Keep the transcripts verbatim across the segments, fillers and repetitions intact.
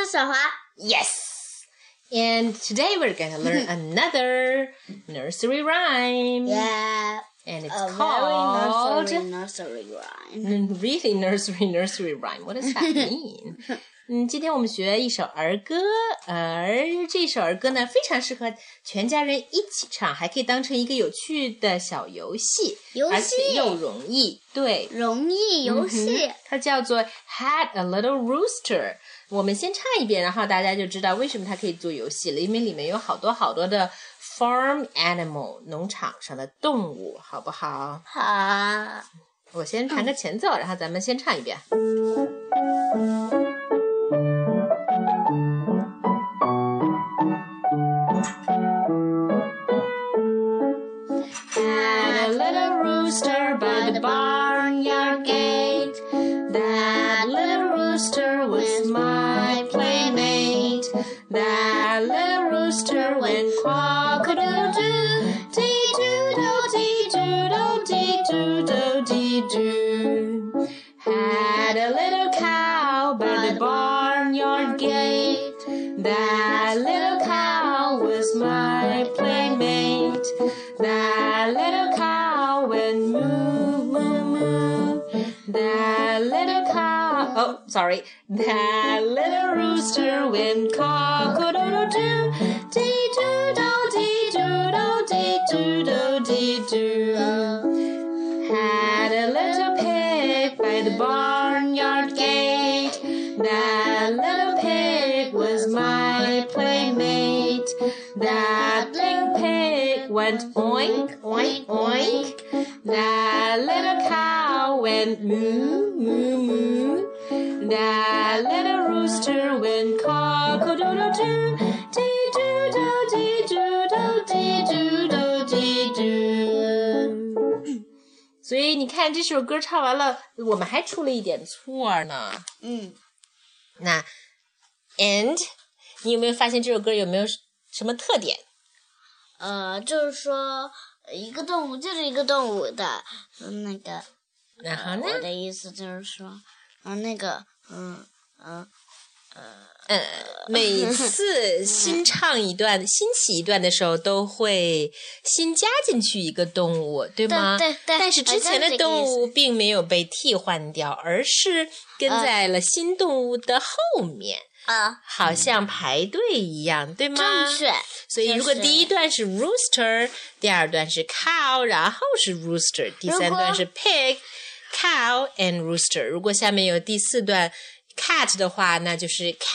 小华。 Yes. And today we're going to learn another nursery rhyme. Yeah. And it's a called... very nursery, nursery rhyme. Really nursery, nursery rhyme. What does that mean? 嗯，今天我们学一首儿歌，而这首儿歌呢，非常适合全家人一起唱，还可以当成一个有趣的小游戏， 游戏而且又容易，对， 容易游戏、嗯。 它叫做 Had a Little Rooster。我们先唱一遍，然后大家就知道为什么它可以做游戏了，因为里面有好多好多的 farm animal 农场上的动物，好不好？ 好。 我先弹个前奏，嗯、然后咱们先唱一遍。Had a little rooster by the barnyard gate. That little rooster was my playmate. That little rooster went cock-a-doodle-doo, dee-doodle, dee-doodle, dee-doodle, dee-doo. Had a little cow by the barnyard gate. That little cow was my playmate. That little cow went moo, moo, moo. That little cow, oh, sorry. That little rooster went cock-a-doodle-doo, dee-doodle, dee-doodle, dee-doodle, dee-doo. Had a little pig by the barnyard gate. That little pig was my playmate. That little pig went oink, oink, oink. That little cow went moo, moo, moo. That little rooster went cock-a-doodle-doo, dee-doodle, dee-doodle, dee-doodle, dee-doo. 所以你看这首歌唱完了，我们还出了一点错呢。 嗯， 那 and 你有没有发现这首歌有没有什么特点？ 呃，就是说一个动物就是一个动物的，嗯，那个， 然后呢？ 呃、我的意思就是说，嗯，那个，嗯嗯呃呃，每次新唱一段、新起一段的时候，都会新加进去一个动物，对吗？ 对对对。 但是之前的动物并没有被替换掉，而是跟在了新动物的后面。 啊， 好像排队一样，对吗？ 正确。 所以如果第一段是 rooster， 第二段是 cow， 然后是 rooster， 第三段是 pig、cow and rooster。如果下面有第四段 cat 的话，那就是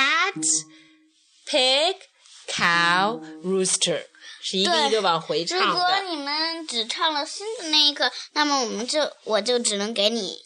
cat、pig、cow、rooster， 是一个一个往回唱的。 如果你们只唱了新的那一个，那么我们就我就只能给你。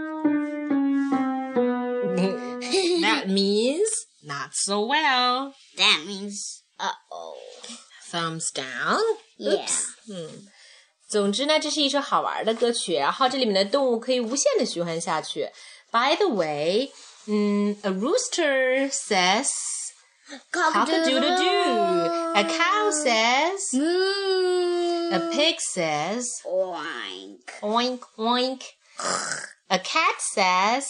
That means...Not so well. That means, uh-oh. Thumbs down. Yeah. Oops. 嗯，总之呢，这是一首好玩的歌曲，然后这里面的动物可以无限的循环下去。By the way, 嗯 a rooster says cock-a-doodle-doo. A cow says moo. A pig says oink. Oink, oink. A cat says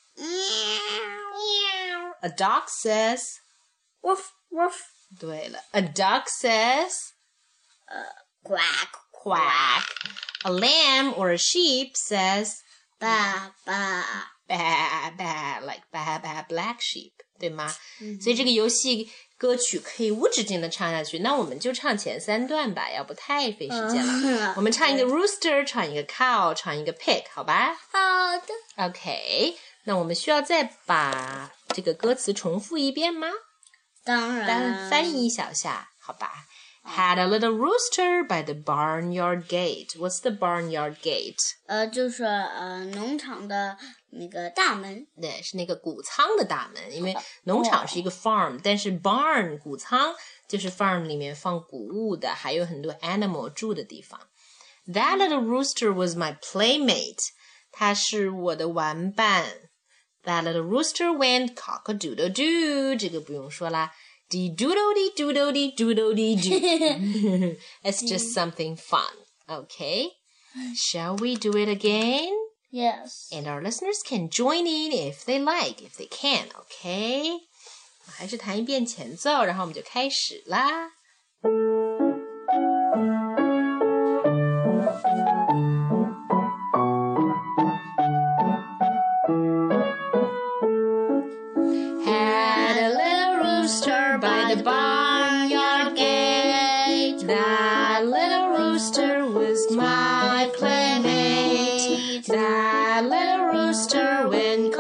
A dog says woof, woof. 对了 A duck says uh, quack, quack. A lamb or a sheep says ba, ba. ba, ba, like ba, ba, black sheep, 对吗？ 嗯、 所以这个游戏歌曲可以无止境的唱下去，那我们就唱前三段吧，要不太费时间了。 嗯、 我们唱一个 rooster， 唱一个 cow， 唱一个 pig， 好吧？ 好的。 OK。那我们需要再把这个歌词重复一遍吗？ 当然。 单翻译一小下，好吧。Had a little rooster by the barnyard gate. What's the barnyard gate? 呃，就是呃农场的那个大门。 对，是那个谷仓的大门，因为农场是一个 farm，、哦、但是 barn 谷仓就是 farm 里面放谷物的，还有很多 animal 住的地方。That little rooster was my playmate. 他是我的玩伴。That little rooster went cock-a-doodle-doo. 这个不用说啦。Dee-doodle-dee-doodle-dee-doodle-dee-doo. It's just something fun. Okay? Shall we do it again? Yes. And our listeners can join in if they like, if they can. Okay? 还是弹一遍前奏，然后我们就开始啦。Had a little rooster by the barnyard gate. That little rooster was my playmate. That little rooster went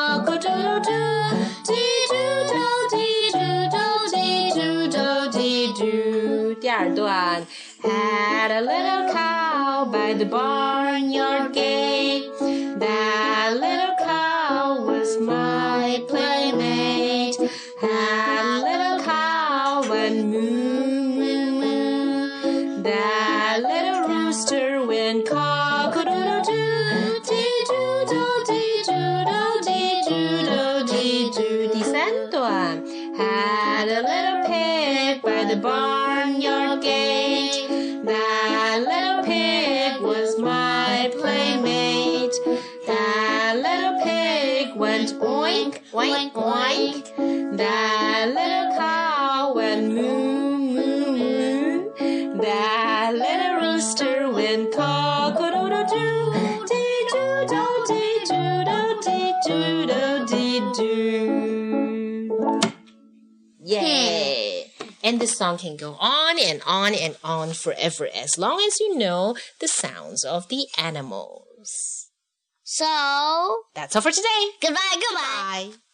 cock-a-doodle-doo, dee-doo-do-dee-doo-do-dee-doo. 第二段 Had a little cow by the barnyard gate. That little cow was my playmate. Had a little cow went moo, moo, moo. That little rooster went cock-a-doodle-doo, dee-doo-do-dee-doo-do-dee-doo-do-dee-doo. 第三段 Had a little pig by the barnyard gate. That little pig was my playmate. That little pig went oink, oink, oink. That little cow went moo, moo, moo. That little rooster went cock-a-doodle-doo, dee-doo-do-dee-doo-do-dee-doo. Yay! And the song can go on and on and on forever as long as you know the sounds of the animals. So, That's all for today. goodbye, goodbye. Bye.